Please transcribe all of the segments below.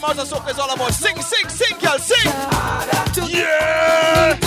Mars and Soca is all about. Sing, sing, sing, girl, sing. Yeah.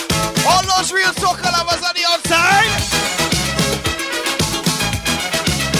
All those real soca lovers on the outside.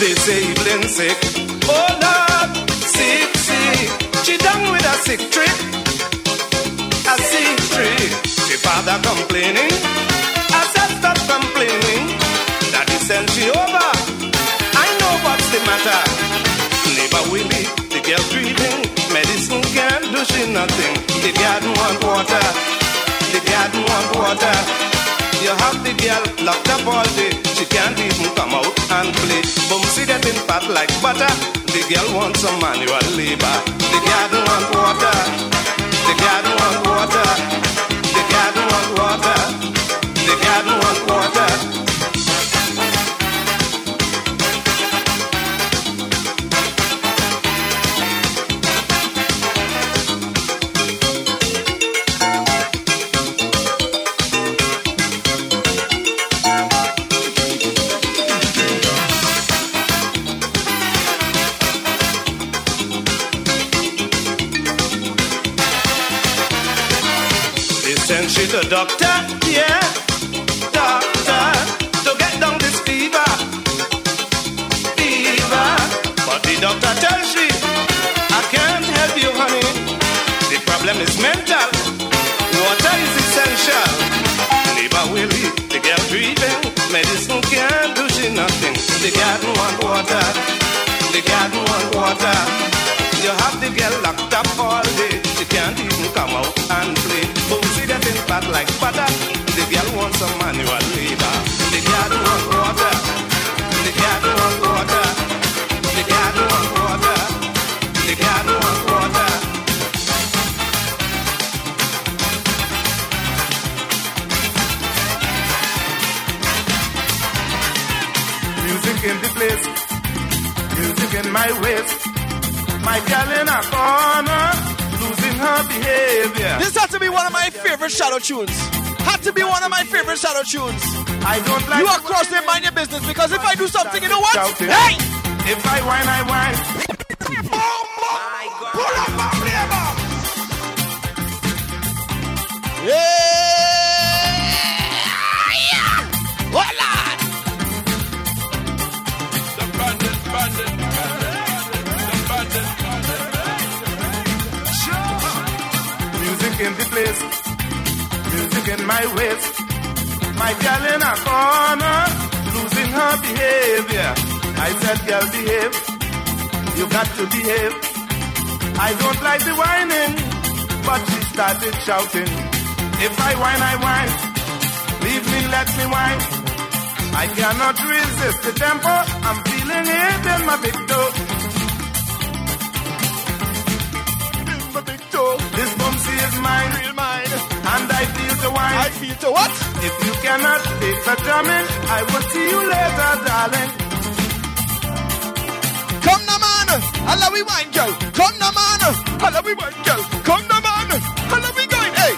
disabling sick. Oh Lord, sick. She done with a sick trick. A sick trick. She father complaining. I said stop complaining. Daddy sent she over. I know what's the matter. Neighbor Willie, the girl breathing. Medicine can't do she nothing. The garden want water. The garden want water. You have the girl locked up all day. She can't even come out and play. Bumsy getting fat like butter. The girl wants some manual labor. The garden want water. The garden want water. The garden want water. The garden want water. She's a doctor, yeah, doctor, to get down this fever. But the doctor tells she, I can't help you, honey. The problem is mental. Water is essential. Neighbor Willie, the girl breathing. Medicine can't do she nothing. The garden want water. The garden want water. You have the girl locked up all day. She can't even come out and play. Boozy getting fat like butter. The girl wants some manual labor. The garden want water. The garden want water. The garden want water. The garden want water. Music in the place. Music in my waist. My girl in a corner, losing her behavior. This has to be one of my favorite shadow tunes. Had to be one of my favorite shadow tunes. I don't like you are crossing mind your business because if I do something, you know what? Shouting. Hey! If I whine, I whine. My God. Pull up my flavor. Yeah! Voila! Music in the place, music in my waist. My girl in a corner, losing her behavior. I said, girl, behave. You got to behave. I don't like the whining, but she started shouting. If I whine, I whine. Leave me, let me whine. I cannot resist the tempo. I'm feeling it in my big toe. This bumsy is mine, real mine, and I feel the wine. I feel the what? If you cannot take the drumming, I will see you later, darling. Come now, man, Allah we wine, girl. Come now, man, Allah we wine, girl. Come now, man, Allah we going, hey.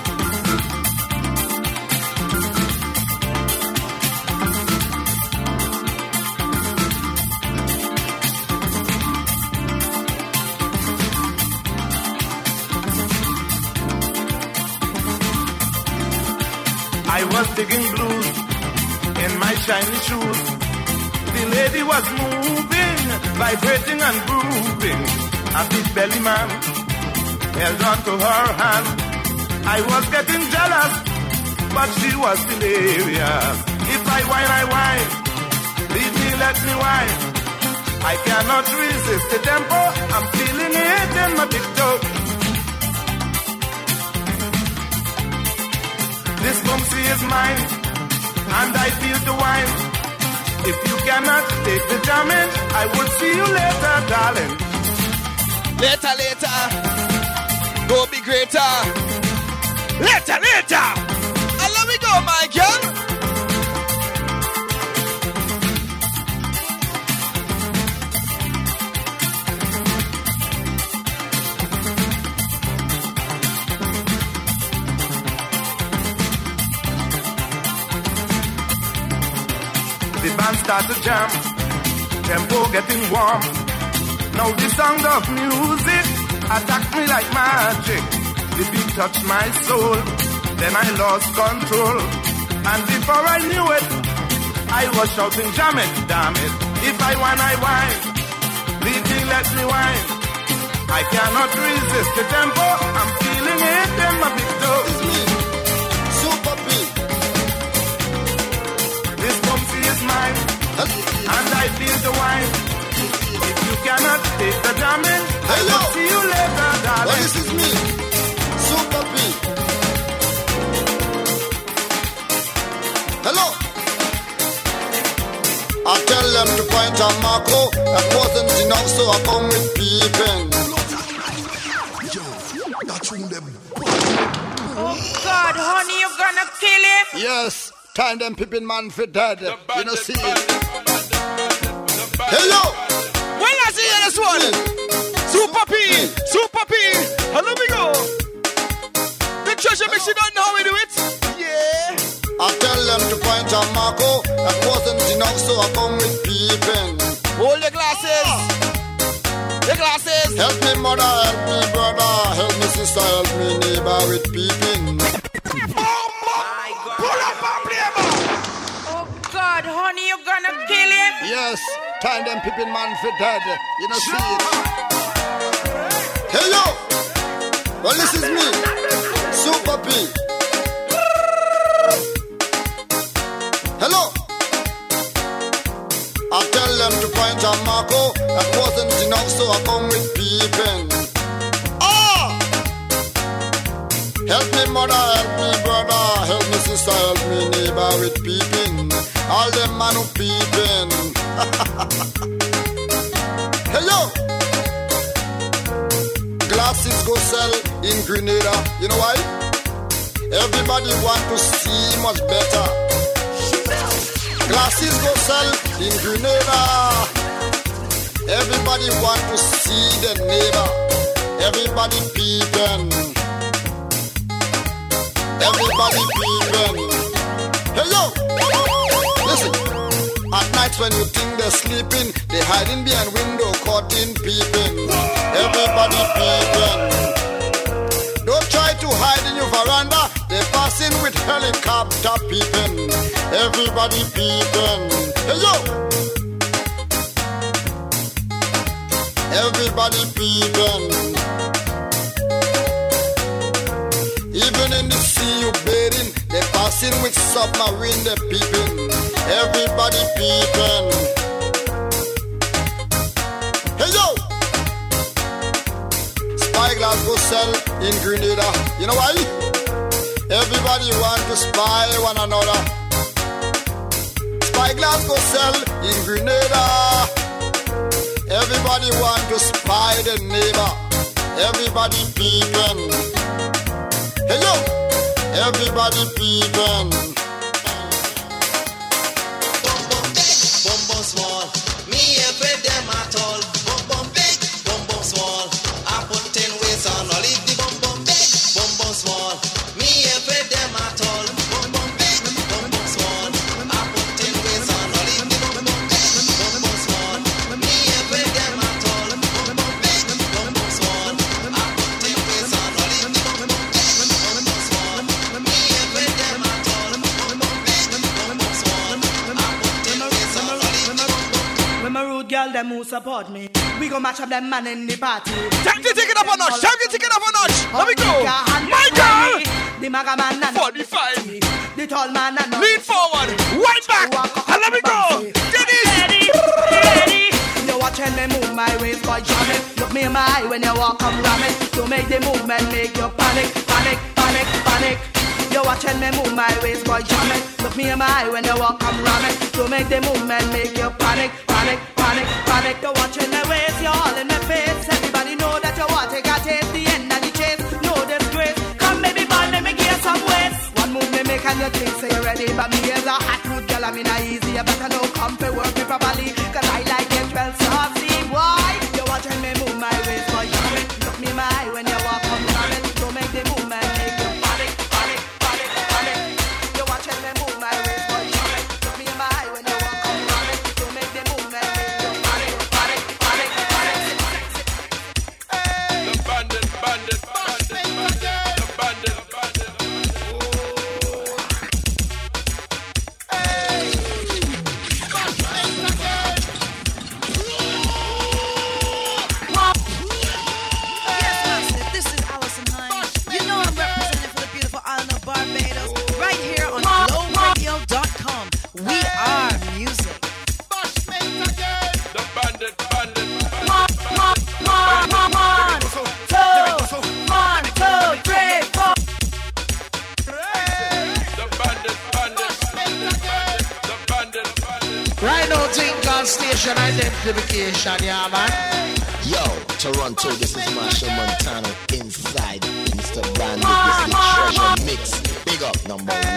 I was digging blues in my shiny shoes. The lady was moving, vibrating and grooving. A big belly man held on to her hand. I was getting jealous, but she was delirious. If I whine, I whine. Leave me, let me whine. I cannot resist the tempo. I'm feeling it in my big toe. This bumsy is mine, and I feel the wine. If you cannot take the jamming, I will see you later, darling. Later, later, go be greater. Later, later, and let me go, my girl. The band start to jam, tempo getting warm. Now the sound of music attacked me like magic. The beat touched my soul, then I lost control. And before I knew it, I was shouting, jam it, damn it. If I whine, I whine. Leave me, let me whine. I cannot resist the tempo. I'm feeling it in my big toe. It's me, Super P. This bumpy is mine, and I feel the wine. If you cannot take the jamming, I will see you later, darling. Well, this is me, Super P. Hello. I tell them to point a Marco. That wasn't enough, so I come with peeping. Oh God, honey, you gonna kill him? Yes, time them peeping man for dead. You know, see it. Hello. Well, I see you this one. Super P, Super P. And let me go. The treasure mix, you don't know how we do it. Yeah. I tell them to point a Marco. That wasn't enough, so I come with peeping. Hold your glasses. The glasses. Help me mother, help me brother, help me sister, help me neighbor with peeping. Pull up and play, man. Oh God, honey, you gonna kill him? Yes, time them peeping man for dead. You know, see it. Hey yo! Well, this is me, Super P. Hello! I tell them to point a Marco. That wasn't enough, so I come with peeping. Ah! Help me mother, help me brother, help me sister, help me neighbor with peeping. All them man who peeping. Hey yo! Glasses go sell in Grenada. You know why? Everybody want to see much better. Glasses go sell in Grenada. Everybody want to see the neighbor. Everybody peeping. Everybody peeping. Hey yo! Listen. At night when you think they're sleeping, they hiding behind window, caught in peeping. Everybody peeping. Don't try to hide in your veranda. They're passing with helicopter peeping. Everybody peeping. Hey yo! Everybody peeping. Even in the sea you bathing, they're passing with submarine, they're peeping. Everybody peeping. Hey yo! Spyglass go sell in Grenada. You know why? Everybody want to spy one another. Spyglass go sell in Grenada. Everybody want to spy the neighbor. Everybody peeping. Hey yo! Everybody peeping. Bum bum big, bum bum small. Me afraid them at all. Bum bum big, bum bum small. I put 10 ways on. I'll leave the bum bum big, bum bum small. Me afraid them at all. Bum bum big, bum bum small. I put 10 ways on. I'll leave the bum bum big, bum bum small. Me afraid them at all. Bum bum big, bum bum small. I put 10 ways on. I'll leave the bum bum big, bum bum small. Me afraid them at all. Bum bum big, bum bum small. I put 10 ways on. I'll leave the bum bum. When my rude girl them who support me, we go match up them man in the party. Time to take it up a notch. Time to take it up a notch. Let me go. My girl. The maga man and 45. the tall man and Lean forward. Right back. And let me go. Dennis. ready. You watching me move my waist, boy, jam it. Look me in my eye when you walk, come ram it. To make the movement, make you panic, panic, panic, panic. You watching me move my waist, boy, jam it. Look me in my eye when you walk, come ram it. To make the movement, make you panic, panic, panic, panic. You watching my waist, you're all in my face. Everybody know that you want to get taste the end of the chase. No disgrace. Come baby, ball, let me get some waist. One move me make and you think say you're ready, but me as a hot root girl, I mean I easy. You better know come to work me properly, 'cause I like it well saucy. Why? You watching me move my waist, boy, jam it. Look me in my eye when you walk, come ram it. Don't make the movement, make you panic, panic, panic, panic. You watching me move my waist, boy, jam it. Look me in my eye when you walk, come ram it. Don't make the movement, make you panic, panic, panic, panic. The bandit, bandit, bandit, bandit, the bandit, bandit. station identification, yeah, man. Yo, Toronto, this is Marshall Montano inside Mr. Bandit. This is the Treasure Mix. Big up, number 1.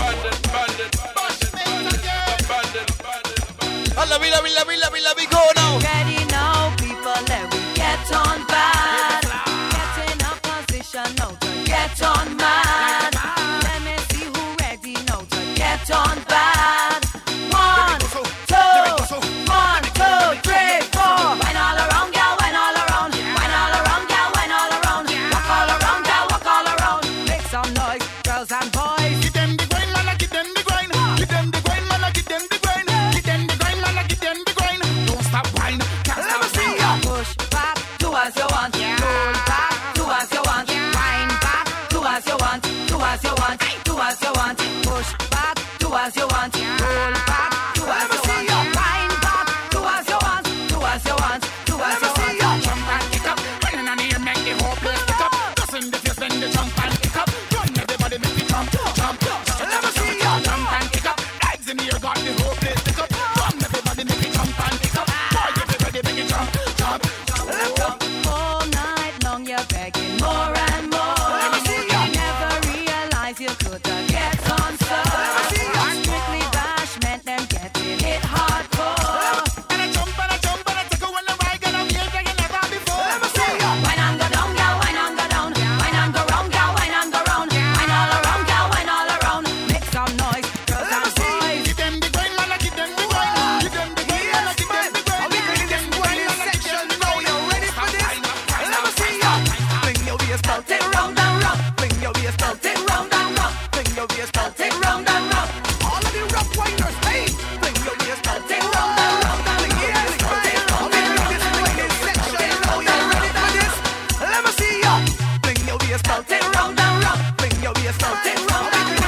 Love it, go now. Ready now, people, let we get on bad. Get in a position now to get on mad. Let me see who ready now to get on bad. 1, 2, 1, 2, 3, 4. Wine all around, girl, wine all around. Wine all around, girl, wine all around. Walk all around, girl, walk all around. Make some noise, girls and boys. Give them the grind, man, give them the grind. Give them the grind, man, give them the grind. Give them the grind, man, give them the grind. Don't stop whine, can't stop sing. Push back, do as you want. Roll back, do as you want. Wind back, do as you want. Do as you want, do as you want. Push back, do as you want. Roll back, do as you want. Wind back, do as you want. Do as you want, do as you want. Jump and kick up, running on here, make the whole place kick up. Just in the face, then the jump and kick up. Run everybody, make the jump, jump. Let me see you jump and kick up. Legs in here, got the whole place kick up. Run everybody, make the jump and kick up. Boy, everybody, make it jump, jump. All night long you're begging more and more. You never realize you could get on so. Strictly bash meant them getting hit hardcore. And I jump and I jump and I take a one and ride and I'm here like never before. Let me see you. Wine and go down, girl, wine and go down. Wine and go round, girl, wine and go round. Wine all around, girl, wine all around. Make some noise, girls and boys. Give them the grind, man, give them the grind. Give them the grind, man, give them the grind. Give them the grind, man, section. Now you're ready for this. Let me see you. Bring your waist out, Take round and round. bring your waist out, Take round and round. bring your waist out. Take round and round. All of the rough winders, hey, bring your waist out. Take round and round. Bring your waist out. All of you this wicked section. Now you're ready for this. Let me see you. Bring your waist out. Take round and round. Bring your waist out. Take round and round.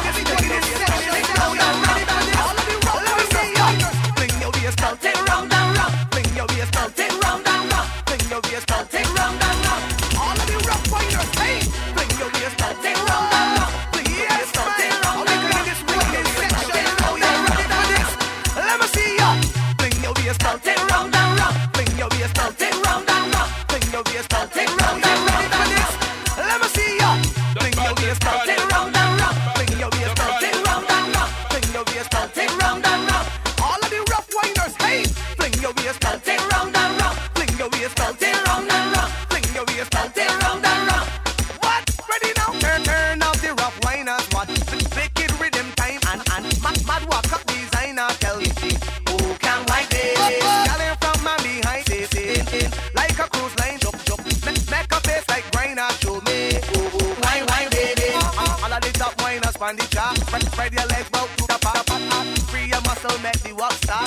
Bring your waist out. Take round and round. Bring your waist out. Take round and round. Bring your waist out. Take round and round. All of you rough winders, hey, bring your waist out. Take round and round. Bring your waist out. Take round All of and you round. this wicked section. Now you're ready for this. Let me see you. Bring your waist out. Take round and round. Bring your waist out. Take round and round. Bring your waist out. Take round and round. Ready for this. Let me see you. Bring your waist out. Take round and round. Bring your waist out. Take round and round. Bring your waist out. Take round and round. All of the rough winders, hey, bring your waist out. Take round and round. Bring your waist out. Take round and round. Bring your waist out. Take round and round. What? Ready now? Turn up the rough winders. What? Wicked rhythm time and mad walk up designer. Tell me who can wind this? Yelling from my behind, say, like a cruise line, jump. Make a face like grinder, show me wine, baby. All of the top winders on the chart. Spread your legs out to the pop. Free your muscle, make the walk start.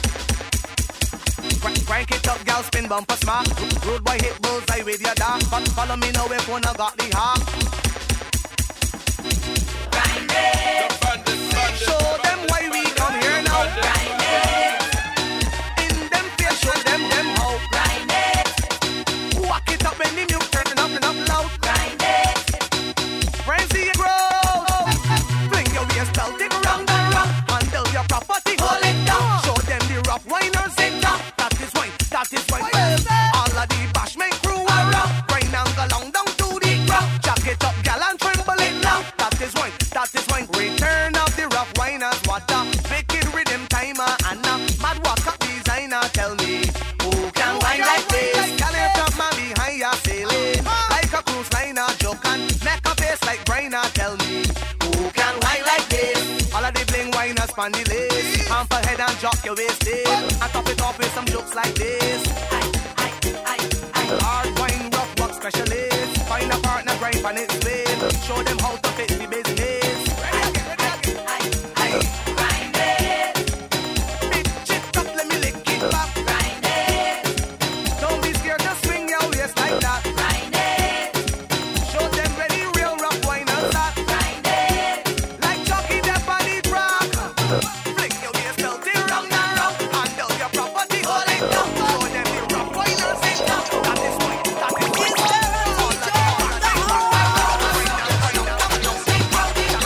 Crank it up, gal, spin bumper smart. Road boy hit bullseye with your dog. Follow me now if one I got the heart. Grind it. Show them why we come here now. Grind it. In them face, show them how. Grind it. Walk it up when the music turn up loud. Grind it. Frenzy and grow. Bring your waist out, take round and round. Handle your property, Hold it down. Show them the rough winers in town. That is wine. All of the bashment crew around. Grind and go long down to the ground. Jack it up, gal, and tremble it now. That is wine. Return of the rough winers. What a wicked rhythm timer and a mad walk up designer. Tell me who can wine like this? Gal, it up, man, behind ya sailing like a cruise liner. Joke and make a face like Briner. Tell me who can wine like this? All of the bling winers span the lace. Pump ahead and drop your waist in. And top it off with some jokes like this. Hard wine, rough work specialist. Find a partner, grind on its way. Show them how to fix the business. Grind it. Bitch it up, let me lick it back. Grind it. Don't be scared to swing your waist like that. Grind it. Show them ready, real rough winers that. Grind it. Like Chucky, that body rock. Fling your waist belt in round and round. Handle your property, hold it down. Show them the rough winers in town. That is why, that is why.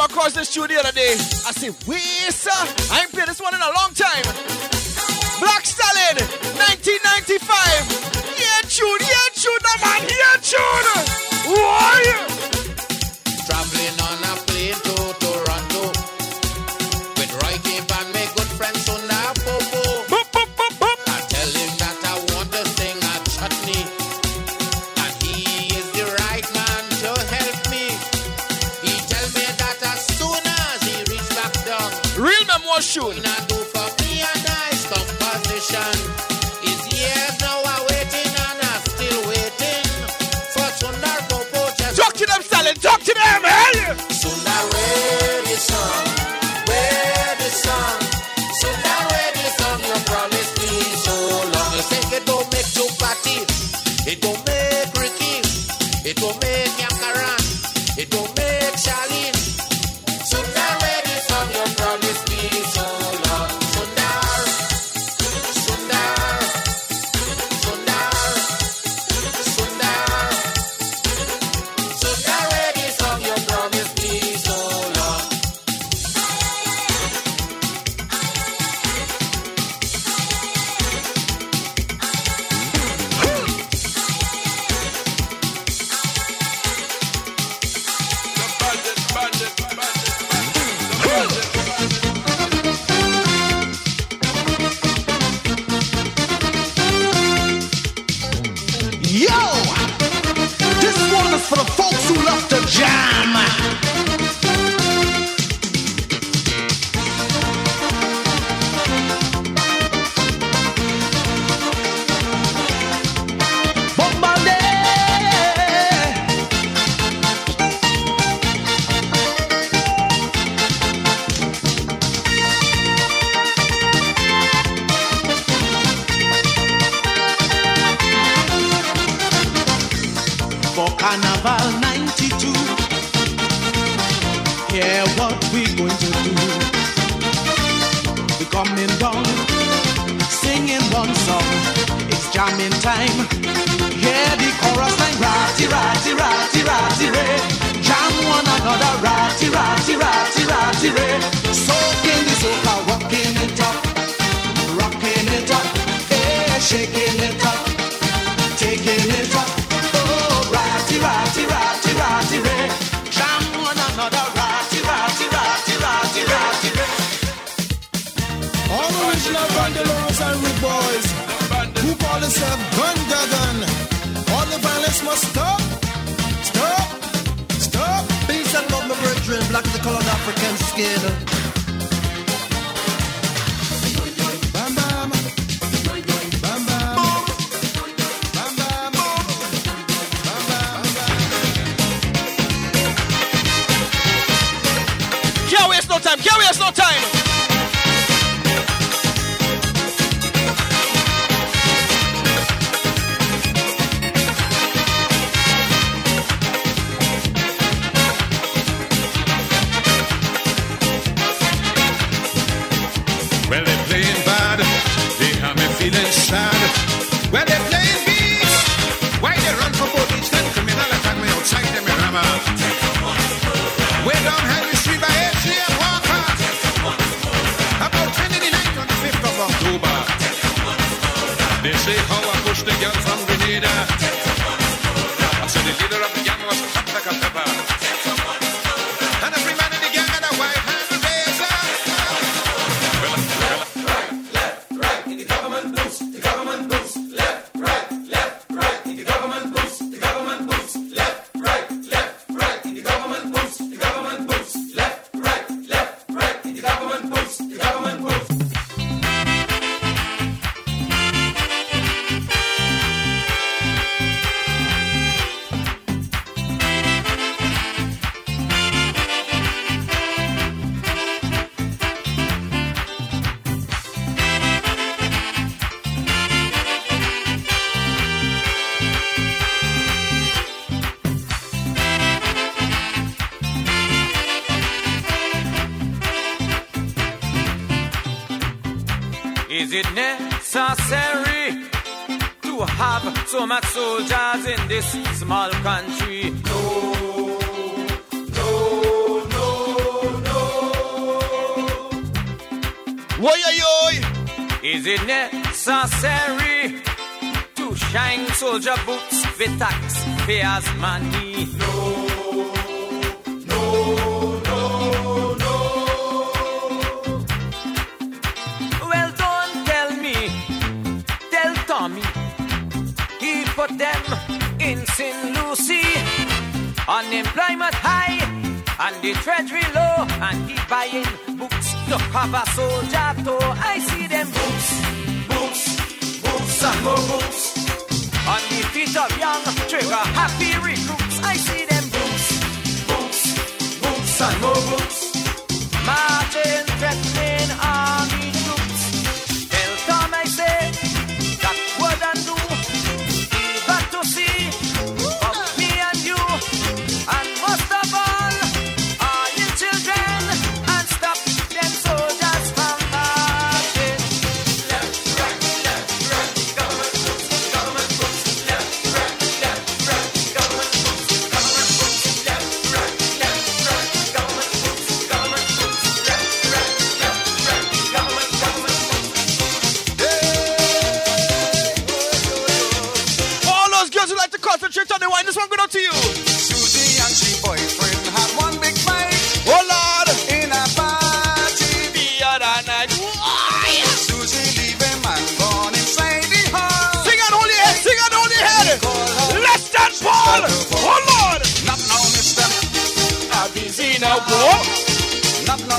across this tune the other day. I said, wait, sir, I ain't played this one in a long time. Black Stallion, 1995. Yeah, tune, no man, yeah, tune. Why? Traveling on a plane to Toronto with Roy Cape and my good friend Sunda Popo. I tell him that I want to sing a chutney, and he is the right man to help me. He tell me that as soon as he reach back down, real memoir shoot. I do for me a nice composition. His years now are waiting and I'm still waiting for Sunda Popo. Talk to them, Stallion. Talk to them, hey! Sunda, where the song? Where the song? Sunda, where the song? You promised me so long. You say it don't make you party, it don't make Ricky, it don't make Yakaran, it don't make Charlene. Sunda, where the song? You promised me so long. Sundar, Sundar, Sundar, Sundar, Sundar, where the song? You promised me so long. Yo! This one is for the folks who love to jam. For Carnival 92, hear what we going to do. We coming down, singing one song. It's jamming time. Hear the chorus line, ratty, ratty, ratty, ratty, ray. Jam one another, ratty, ratty, ratty, ratty, ray. Soaking the soca, rocking it up, hey, shaking it up, taking it up. Ratty, ratty, ratty, ratty, ray. Jam one another, ratty, ratty, ratty, ratty, ratty, ray. All original bandalos and rude boys who call themselves gun gagan. All the violence must stop, stop, stop. Peace and love, my brethren. Black is the color of African skin. Bam bam, bam bam, bam bam, bam bam. Can't waste no time, can't waste no time. Well, they're playing bad, they have me feeling sad. Well, they're playing beats, why they run for police? Then criminal attack me outside them in Rama. Way down Henry Street by H.C. and Walker. About 10 in the night on the 5th of October. They say how I pushed the girl from Grenada. I said the leader of the gang was hot like a pepper. And every man in the gang had a white hand razor. Is it necessary to have so much soldiers in this small country? No, no, no. Is it necessary to shine soldier boots with taxpayers' money? No. Well, don't tell me, tell Tommy, he put them in St. Lucie, unemployment high, and the treasury low, and he buying boots to cover soldier toe. I see them boots, and more boots, on the feet of young trigger happy recruits. I see them boots, and more boots, marching, threatening army troops. Tell Tom I say, that wouldn't do. You got to see of me and you, and most of all, you children, and stop them soldiers from marching. Left, right, government boots, government boots, left, right, government boots, government boots, left, right, government boots, government boots, left, right, government boots. All those girls who like to concentrate on the wine, this one going out to you. Susie and she boyfriend had one big fight. Oh Lord, in a party the other night. Susie leave him and gone inside the hall. Sing on holy head, sing on holy head. Less than Paul. Oh Lord, not now, mister. I'm busy now, bro. Not now.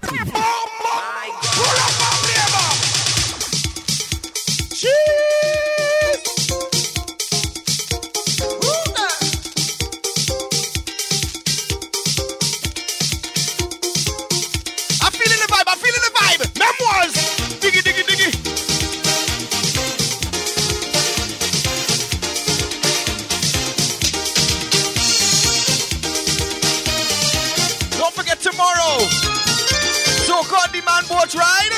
Pull up my flavor. I'm feeling the vibe, I'm feeling the vibe. Memoirs. Diggy, diggy, diggy. Don't forget tomorrow. So-called demand boat ride.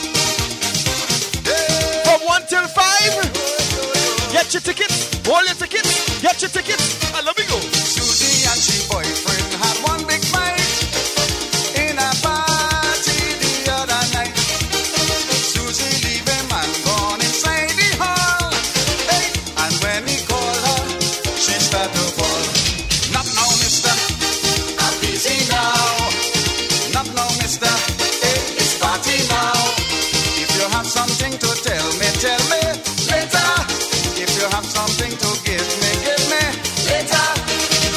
From 1 till 5. Get your tickets. Hold your tickets. Get your tickets. I love you. Susie and she boyfriend had one big fight in a party the other night. Susie leave him and gone inside the hall. Hey, and when he called her, she started to fall. Not now, mister. I'm busy now. Not now, mister. Hey, it's party now. If you have something to tell me later. If you have something to give me later.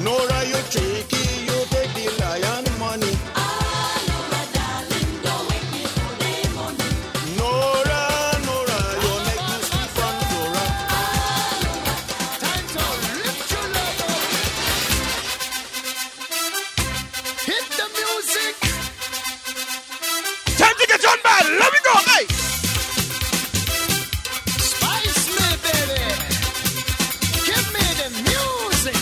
Nora, you tricky, you take the lion money. Nora, Nora, you make me sleep on Nora. Time to lift your love up. Hit the music. Time to get on bad. Let me go, hey. Spice me, baby. Give me the music.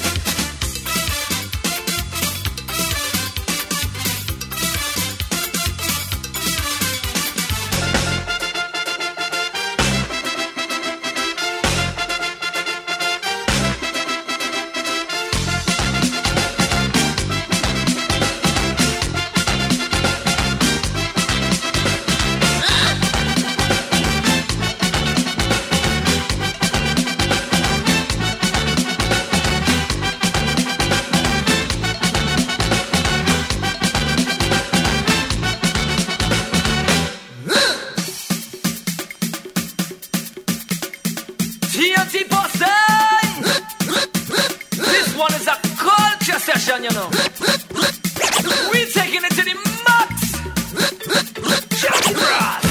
TNT Boston! This one is a culture session, you know. We're taking it to the max! Johnny Brass!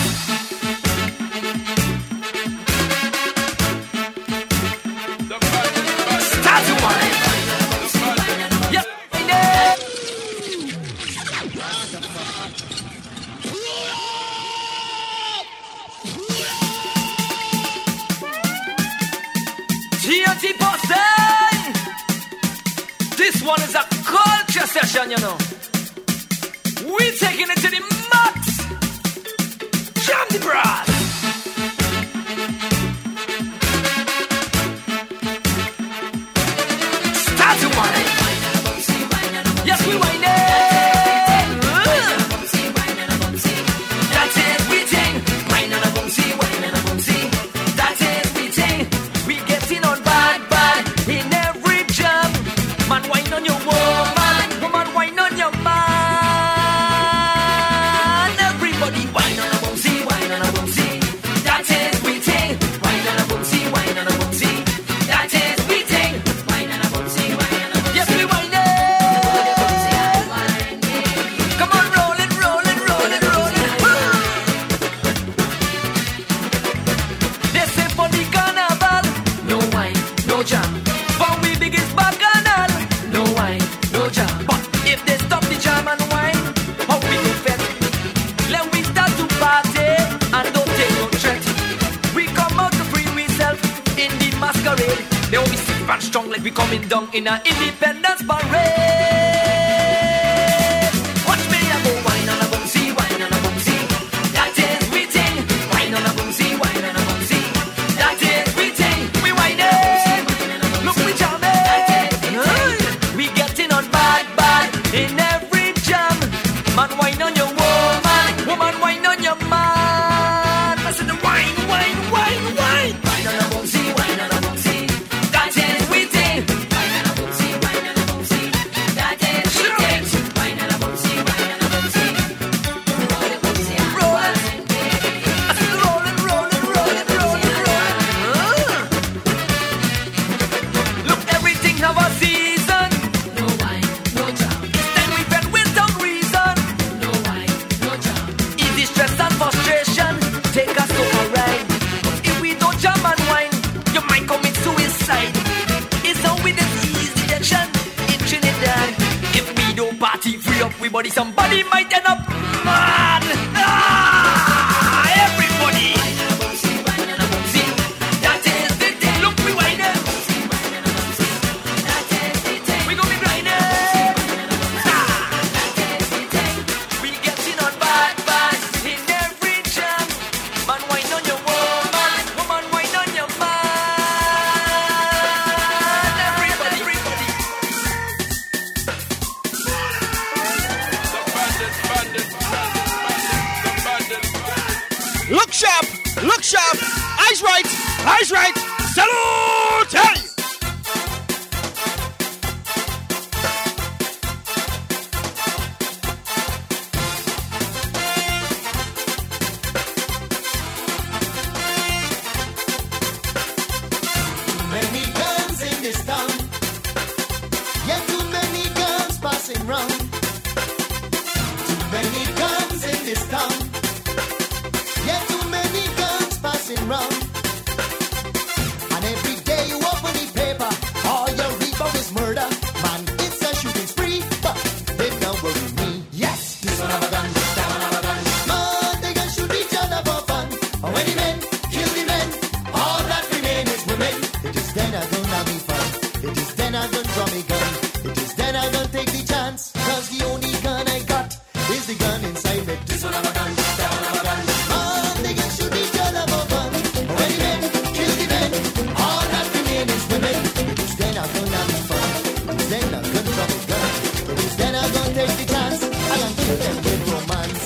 Start to wine! Yep, TNT Boston! This one is a culture session, you know. We're taking it to the max! Jam the brass! Start to wine! Yes, we wine it! That's it, we ting! Wine and a boomsy, wine and a boomsy. That's it, we ting! We getting on bad, bad in every jam. Man, wine on your woman, woman, wine on your man. Everybody wine on a boomsy, wine on a boomsy. That is we ting. Wine on a boomsy, wine on a boomsy. That is we ting. Wine on a boomsy, wine on a boomsy. Yes, we wine it. Come on, roll it, roll it, roll it, roll it. They say for the carnival, no wine, no jam. For we biggest bacchanal, no wine, no jam. But if they stop the jam and wine, how we go fed? Let we start to party and don't take no threat. We come out to free ourselves in the masquerade. They will be safe and strong like we coming down in an independence parade. Watch me, I go wine on a boomsy, wine on a boomsy. That is we ting. Wine on a boomsy, wine on a boomsy. That is we ting. We wine it. Look, we jam it. We getting on bad, bad in every jam. Man, wine on your woman, woman, wine on your man. I said the wine, wine, wine, wine. Wine on a boomsy, wine on a boomsy. That is we ting. Wine on a boomsy, wine on a boomsy. That is we ting. Wine on a boomsy, wine on a boomsy. Roll it, boomsy, roll it. I said roll it, roll it, roll it, roll it, roll it. Look, everything have a season. No wine, no jam. It's time we fed with some reason. No wine, no jam. Easy stress and frustration take us to a ride. If we don't jam and wine, you might commit suicide. It's how we this easy action in Trinidad. If we don't party free up, we body somebody might end up mad. Everybody. That is the thing. Look, we wine it. We gonna be grinding. We getting on bad, bad in every jam. Man, wine on your woman, woman, wine on your man. Everybody, everybody. The bandit, bandit, bandit, bandit. then I gon' draw me gun. It is then I gon' take the chance. Cause the only gun I got is the gun inside it. This one of a gun, that one of a gun. Man, they can shoot each other for fun. When the men kill the men, all that remain is women. It is then I gon' have the fun. It is then I gon' draw me gun. It is then I gon' take the chance. I gon' kill them with romance.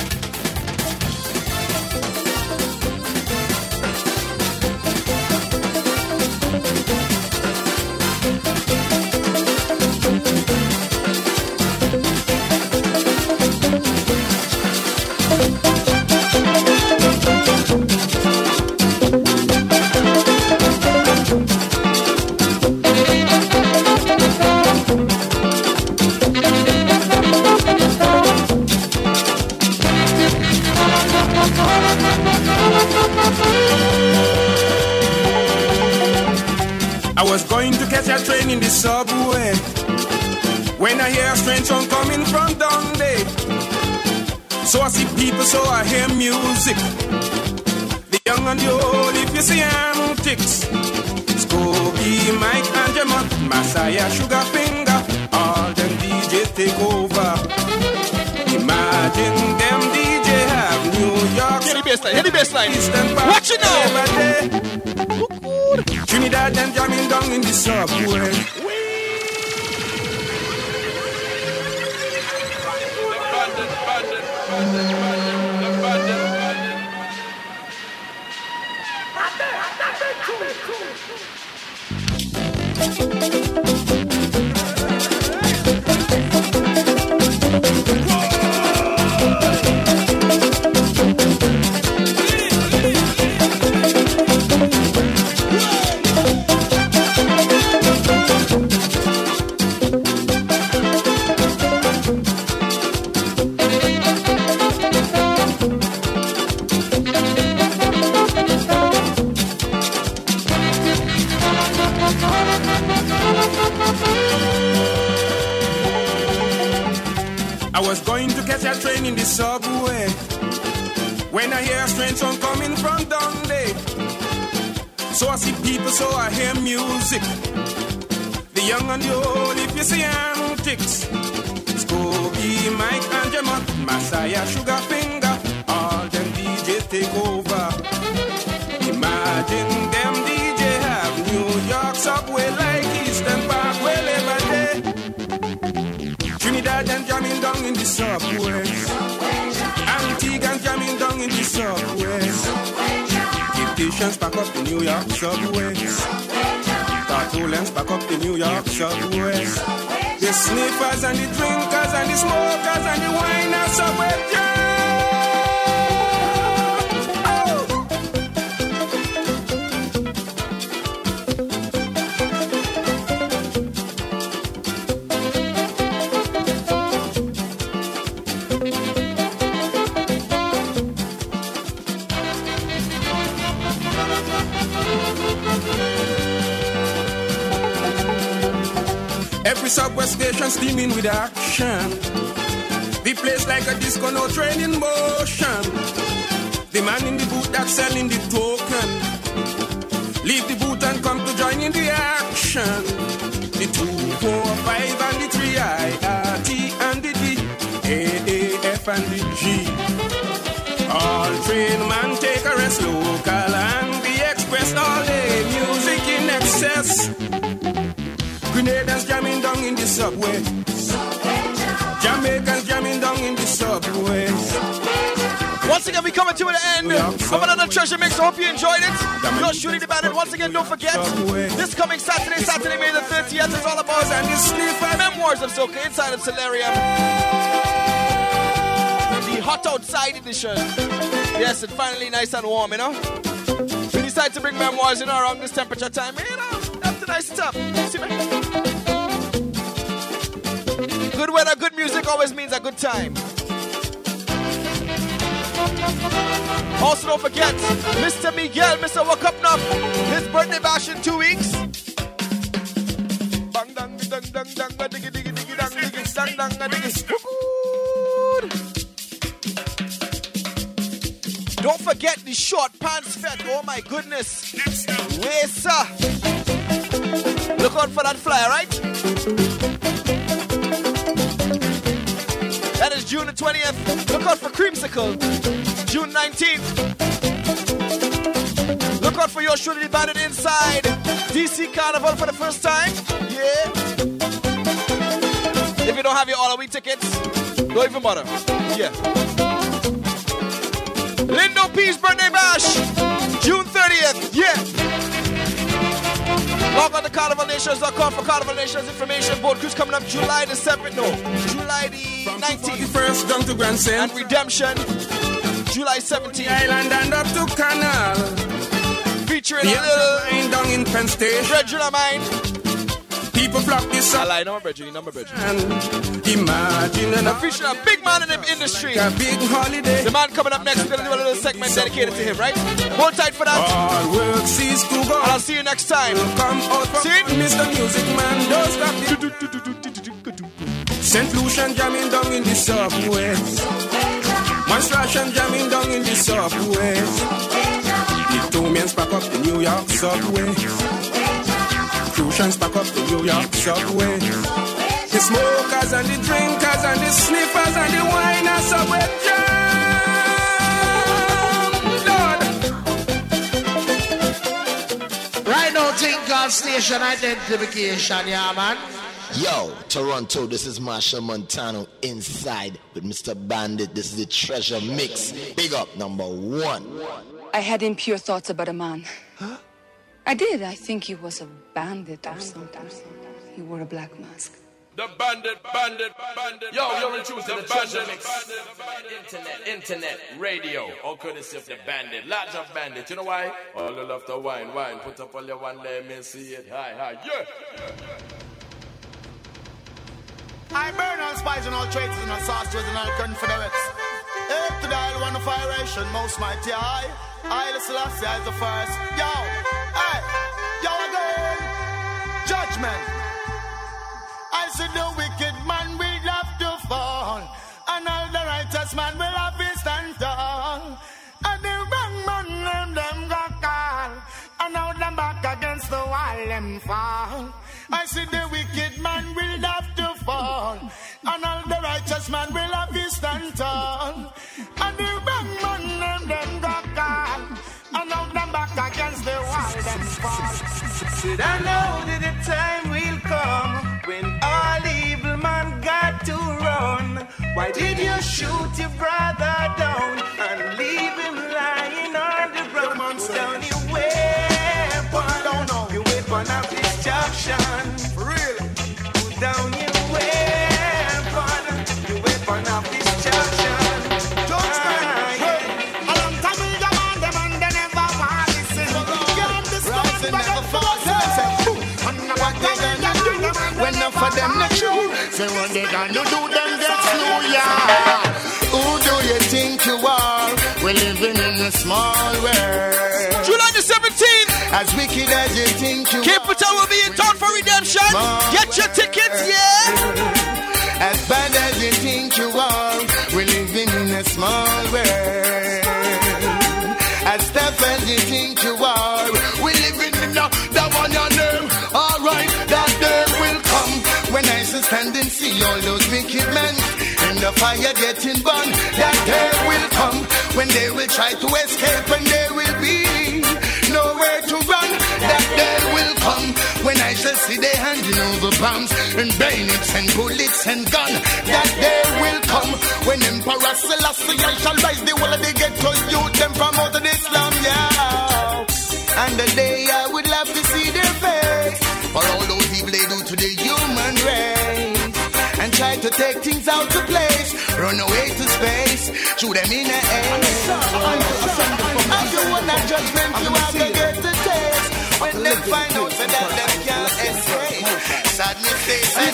I was going to catch a train in the subway when I hear a strange song coming from Dundee. So I see people, so I hear music. The young and the old, if you see antics. Scooby, Mike and Gemma, Messiah, Sugar Finger, all them DJs take over. Imagine them DJ have New York. Hit the baseline. Watch it now. Trinidad them jamming down in the subway. I was going to catch a train in the subway when I hear a strange song coming from Dundee. So I see people, so I hear music. The young and the old, if you see antics. Scooby, Mike and Gemma, Messiah, Sugar Finger, all them DJs take over. Imagine them DJ have New York subway like Eastern Parkway every day. Trinidad and jamming down in the subway. Antigua and jamming down in the subway. Egyptians pack up the New York subway. Cartolans pack up the New York subway. The sniffers and the drinkers and the smokers and the winers subway. Every subway station steaming with action. The place like a disco, no train in motion. The man in the booth that's selling the token. Leave the booth and come to join in the action. The 2, 4, 5 and the 3 I, R, T and the D, A, F and the G. All train man take a rest, local and the express all day. Music in excess. Grenadians jamming down in the subway. Jamaicans jamming down in the subway. Once again, we coming to the end of another treasure mix. Hope you enjoyed it. You're shooting the bandit. Once again, don't forget, this coming Saturday, May the 30th, is all about Memoirs of Soca inside of Solarium. The hot outside edition. Yes, it's finally nice and warm, you know. We decided to bring Memoirs, you know, around this temperature time. You know, that's the nice stuff. See me? Good weather, good music always means a good time. Also, don't forget, Mr. Miguel, Mr. Wake Up Nuff, his birthday bash in 2 weeks. Bang, dang, dang, dang, dang, diggy, diggy, diggy, dang, diggy, dang, dang, diggy. Don't forget the short pants fete. Oh my goodness. Wesa. Look out for that flyer, right? That is June the 20th. Look out for Creamsicle, June 19th. Look out for your Trinity Bandit inside DC Carnival for the first time. Yeah. If you don't have your all-a-week tickets, don't even bother. Yeah. Lindo P's birthday bash, June 30th. Yeah. Log on to CarnivalNations.com for Carnival Nations information. Boat cruise coming up July the 7th. No, July the 19th. Down to Grand Saint. And Redemption, July 17th. Island and up to Canal. Featuring a little down in Penn State. Brethren of mine. People flock this up. I lie, number Brethren. Imagine I'm featuring a big man in the industry. A big holiday. The man coming up next, we're going to do a little segment dedicated to him, right? Hold tight for that. All work cease to go. And I'll see you next time. Come out from see? Mr. Music Man, don't stop it. St. Lucian jamming down in the southwest. Monstration jamming down in the southwest. The two men pack up the New York subway. Crucians pack up the New York subway. The smokers and the drinkers and the sniffers and the winers subway jam. Lord. Right now, think called station identification, yeah, man. Yo, Toronto, this is Marshall Montano inside with Mr. Bandit. This is the Treasure Mix. Big up, number 1. I had impure thoughts about a man. Huh? I did. I think he was a bandit or something. He wore a black mask. The bandit. Yo, you're in tune to the Treasure Mix. Internet, radio, all courtesy of the bandit. Large of bandit, you know why? All you love to wine. Put up all your one, let me see it. Hi, yeah. I burn all spies and all traitors and all sorcerers and all confederates. Up to the isle one of iration, most mighty I Selassie is the first. Yo, hey, yo again. Judgment. I said the wicked man will have to fall, and all the righteous man will have to stand tall. And the wrong man them got call, and now them back against the wall them fall. I said the wicked man will have to fall, and all the righteous man will have to stand tall. And the wrong man them got call, and now them back against the wall them fall. Said I know that the time will come when all evil man got to run. Why did you shoot your brother down and leave him lying on the ground? Put down your weapon of destruction. For real. Put down your weapon of destruction. Judgment. A long time we demand them and they never want to listen. Can't discuss but never force it. When enough of them not true, say what they gonna do them get slow, yeah. Who do you think you are? We're living in a small world. July the 17th. As wicked as you think you Capital will be in town for redemption. Get your tickets, yeah. As bad as you think you are, we're living in a small world. As tough as you think you are, we're living in the one your name. Alright, that day will come when I stand and see all those wicked men in the fire getting burned. That day will come when they will try to escape and there will be nowhere to run. That day will come when I shall see they handing over bombs and bayonets and bullets and guns. That day will come when Emperor Selassie I shall rise the whole of the ghetto youth them from out of Islam, yeah. And the day I would love to see their face for all those evil they do to the human race and try to take things out of place, run away to space, shoot them in the air. And you want that judgment, you have to get the taste when they find out that they can't escape. Sadness face and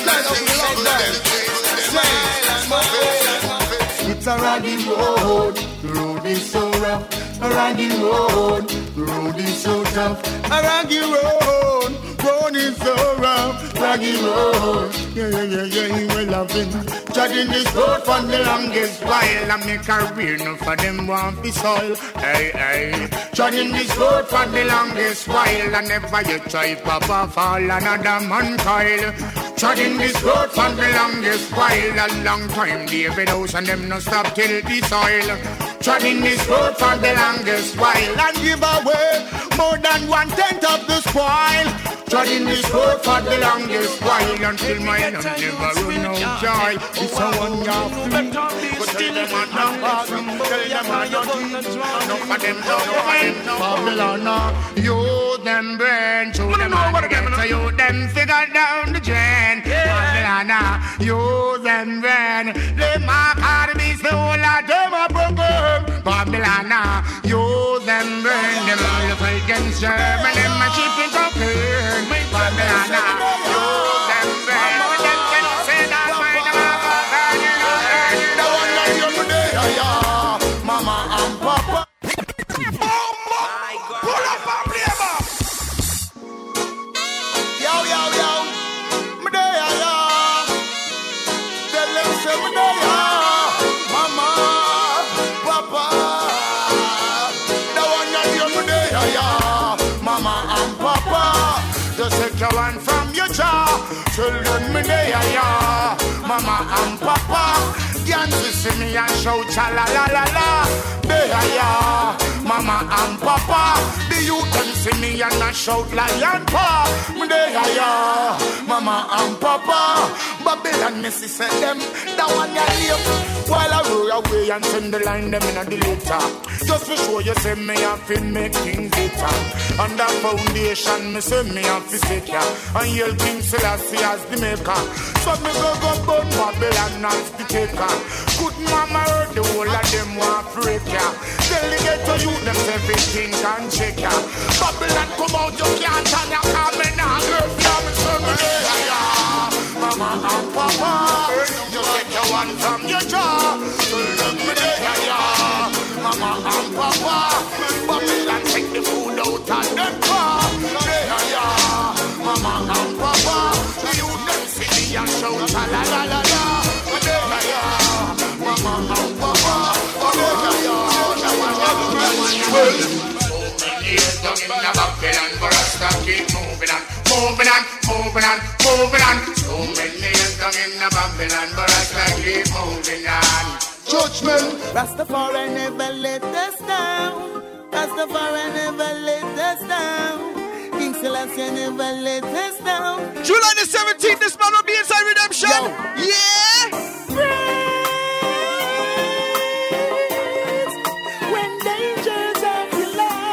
nothing. It's a raggy road, the road is so rough. A raggy road, the road is so tough. A raggy road, road is so rough, raggy road. Yeah, he will love him. Treading this road for the longest while. I make a career, no for them want be soil. Hey. Treading this road for the longest while. And never you try papa fall another man coil. Treading this road for the longest while. A long time, David House and them no stop till the soil. Treading this road for the longest while. And give away more than 1/10 of the spoil. Treading this road for the longest while. Until my hand never run out joy. It's a one year free. But tell them I'm not awesome. Tell them I'm not teach. No for them, no for them, no Babylon. You them brain. Show them how to get to you. Them figure down the drain. Babylon. You them brain. They mark how to be the whole of them a broken. Babylon. You them brain. Them all of against Germany. Them a shipping cocaine. Babylon. You them brain. Them can say that mine am a cocaine. The one that you're there, Mama and Papa. Pull up and play back. Yo. Me there, tell them say me there, Mama, Papa. The one that you're there, Mama and Papa. Just take your one from your jaw. Children me there, Mama and Papa. Can't see me and shout cha la la la la. There, Mama and Papa. The youth can see me and I shout lion paw. Me there, Mama and Papa. Babylon me see say them that one ya live. While I roll away and send the line them in a deleter. Just to show you say me have to make things better. On that foundation me say me have to stick ya. And yell King Selassie as the maker. So me go burn Babylon as the taker. Good mama heard the whole of them want break ya. Tell the ghetto you them everything can check ya. Babylon come out you can't turn ya. Come in now girl ya me say me there. Mama and Papa, you take your one from your jaw. So let me there, Mama and Papa. Babylon take the food out of them car. There, Mama and Papa. You them see me and shout la la la la. There, Mama and Papa. Down in the Babylon, but I start keep moving on. So many years down in the Babylon, but I start keep moving on. Judgment. Rastafari never let us down. Rastafari never let us down. King Selassie never let us down. July the 17th, this man will be inside Redemption. Yo. Yeah. When dangers of your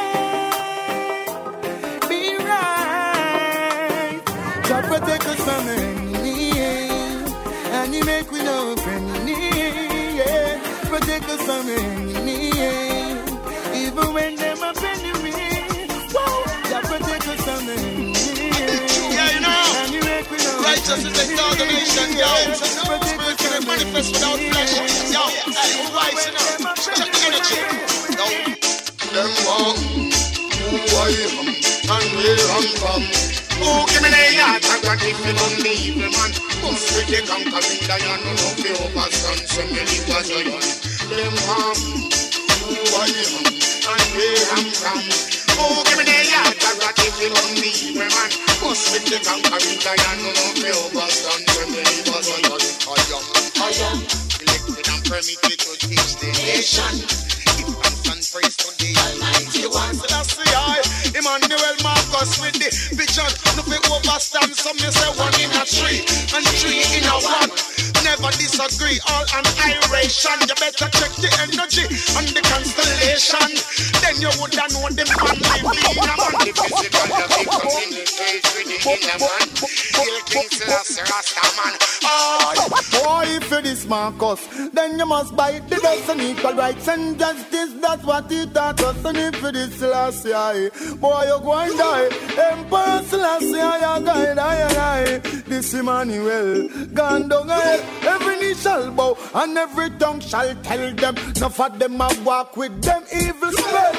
life, be right. God protect us from enemy, and you make we know enemy. Yeah. Protect us from enemy, even when them are enemy. Whoa, God protect us from enemy. Yeah, you know. And you make we know Righteousness is the ordination, yo. Spirit can manifest without flesh. Yo, hey, rise, you know. Check the energy. Yo, them walk, who I am, and where I'm from. Oh, give me the yard, I got it for the evil man. Must be the conquering lion, no be overstand, so many was a young. Them walk, who I am, and where I'm from. Oh, give me the yard, I got it for the evil man. Must be the conquering lion, no be overstand, so many was a young. I am elected and permitted to teach the nation. Give thanks and praise to the Almighty One. So that's the eye. Emmanuel Marcus with the vision. No be overstand, some you say one in a tree and three in a one. Never disagree, all annihilation. You better check the energy and the constellation. Then you would have known the man live in a man. The physical, the victim in the cage with the inner man. Kill King Selassie Rasta man. Boy, if you this Marcus, then you must bite the dust and equal rights and justice. That's what he taught us. And if you this Selassie, boy, you're going to die. Emperor Selassie, you're going to die. This Emmanuel, gone down ahead. Every knee shall bow and every tongue shall tell them. Enough of them a walk with them evil spell.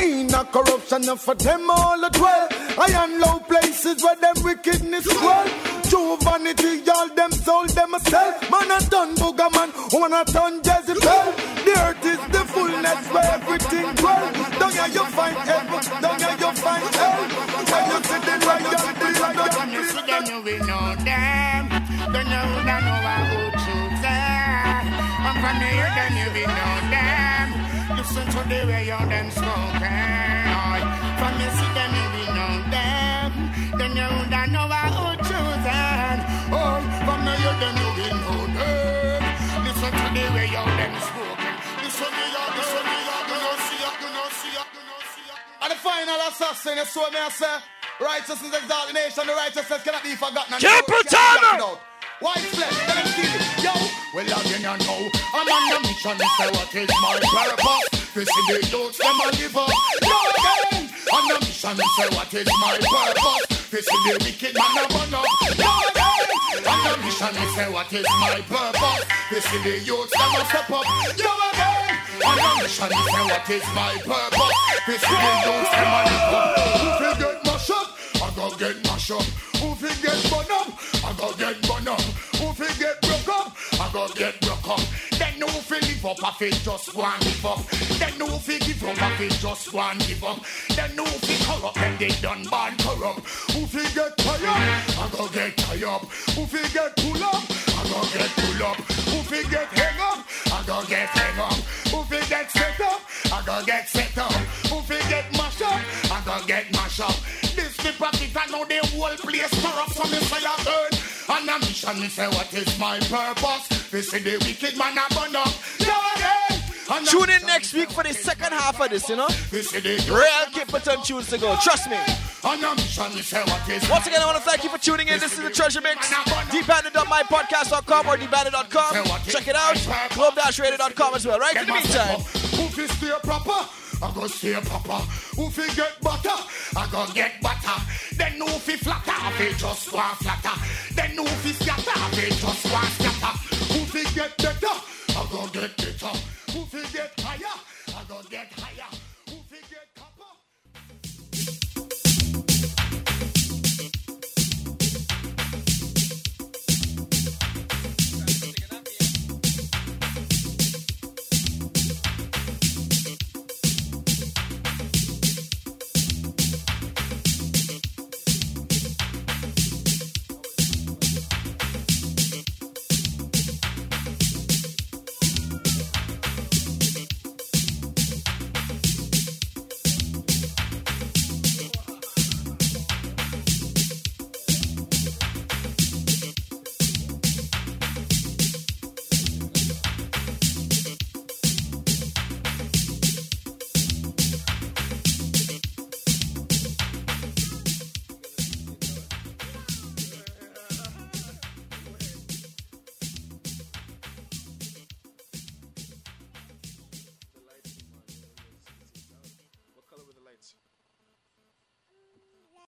In a corruption and for them all as well. I am low places where them wickedness dwell. True vanity, all them soul them a sell. Man a done booger man, woman a done Jezebel. The earth is the fullness where everything dwell. Down here you find heaven, down here you find hell. When you see the right down, the right down. When you see them, you will know them. Then you will know who choose them. And from here, then you will know them. Listen to the way you them spoken. From you see them, you will know them. Then you will know who choose them. Oh, from here, then you will know them. Listen to the way you them spoken. Listen to you, listen to you, you know see you, you know see you, you know see you. And the final assassin is so me I say, righteousness exalt the nation, the righteousness cannot be forgotten. Capital! White flesh, let them see it. Yo! Well, again, you know, I'm on the mission to say what is my purpose. This is the youths, them a give up. Yo, again! On the mission to say what is my purpose. This is the wicked man a burn up. Yo, again! On the mission to say what is my purpose. This is the youths, them a step up. Yo, again! On the mission to say what is my purpose. This is the youths, them a live up. Who will get mashed up? I go get mashed up. Who will get burn up? I go get burn up. Who will get broke up? I go get broke up. Then who will live up? I feel just one give up. Then who will give up? I feel just one give up. Then who will corrupt? And they done bad corrupt. Who will get tired? I go get tired. Who will get pull up? I go get pull up. Who will get hang up? I go get hang up. Who will get set up? I go get set up. Who will get mash up? I go get mash up. This the pocket I know the whole place corrupt. So me say I burn. And a mission me say what is my purpose. This is the wicked man a burn up. Tune in next week for the second half of this, you know? Real Kipperton tunes to go, trust me. Once again, I want to thank you for tuning in. This is the Treasure Mix. Debanded.mypodcast.com or debanded.com. Check it out. Globe-radio.com as well, right? In the meantime. Who stay proper? I go stay proper. Who fi get butter? I go get butter. Then who fi flatter? I fi just go flatter. Then who fi scatter? I fi just